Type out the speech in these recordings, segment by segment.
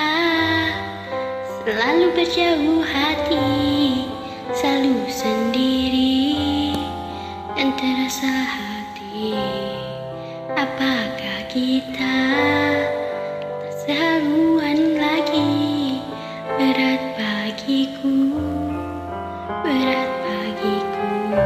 selalu berjauh hati, selalu sendiri dan terasa hati. Apakah kita tak sehaluan lagi? Berat bagiku, berat bagiku.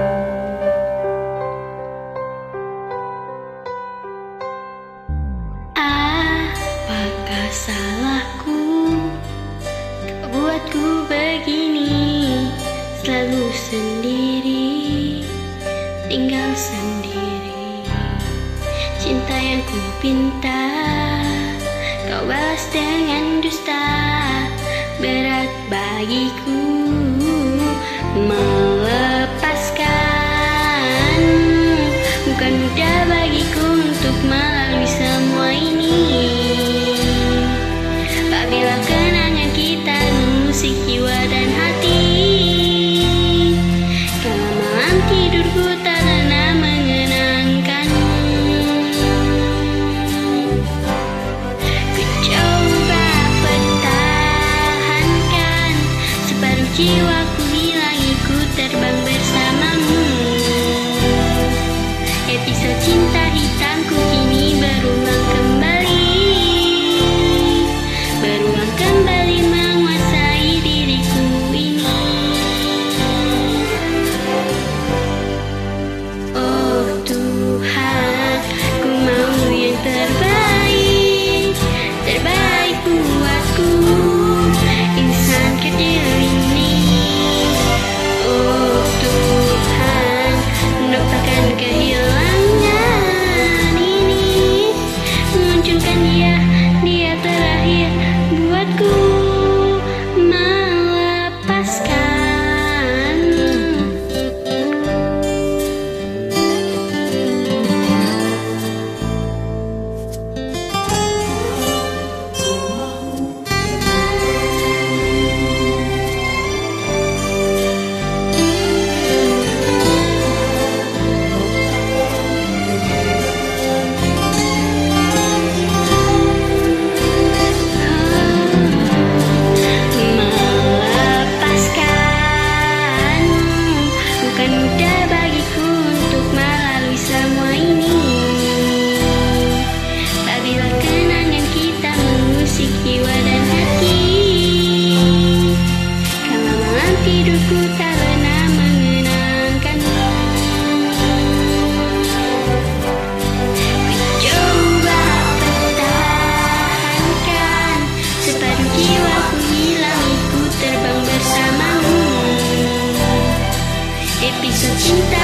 Apakah salahku kau buatku begini, selalu sendiri, tinggal sendiri. Cinta yang ku pinta kau balas dengan dusta. Berat bagiku melepaskan. Bukan mudah bagiku untuk melalui semua ini. Apabila kenangan kita mengusik jiwa dan hati, kalau malam tidurku tak pernah mengenangkanmu. Ku coba pertahankan separuh jiwaku, hilangi ku terbang bersamamu. Episode cinta hitamku kini berulang kembali, berulang kembali menguasai diriku ini. Oh Tuhan, ku mau yang terbaik, terbaik buatku, insan kecil ini. Oh Tuhan, lupakan kehilangan ini, munculkan dia terakhir buatku melepaskan. Melepaskan bukan mudah bagiku untuk melalui semua ini. Apabila kenangan kita mengusik jiwa dan hati, kalau malam tidurku tak pernah mengenangkanmu. Ku coba pertahankan separuh jiwaku, hilangi ku terbang bersamamu. Episode cinta